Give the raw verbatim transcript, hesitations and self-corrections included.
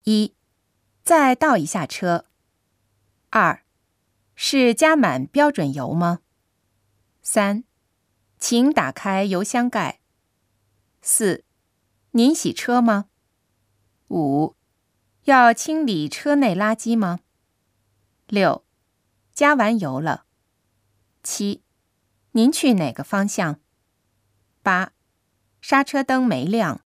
一，再倒一下车。二，是加满标准油吗？三，请打开油箱盖。四，您洗车吗？五，要清理车内垃圾吗？六，加完油了。七，您去哪个方向？八，刹车灯没亮。